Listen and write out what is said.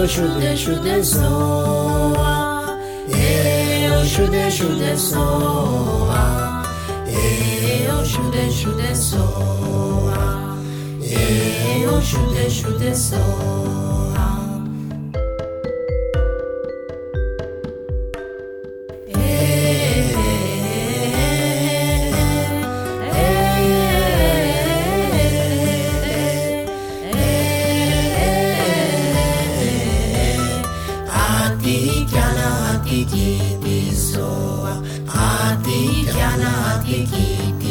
shude soa. Shude soa. Shude soa. Shude soa. Ati kiana ati kiti soa, ati kiana ati kiti.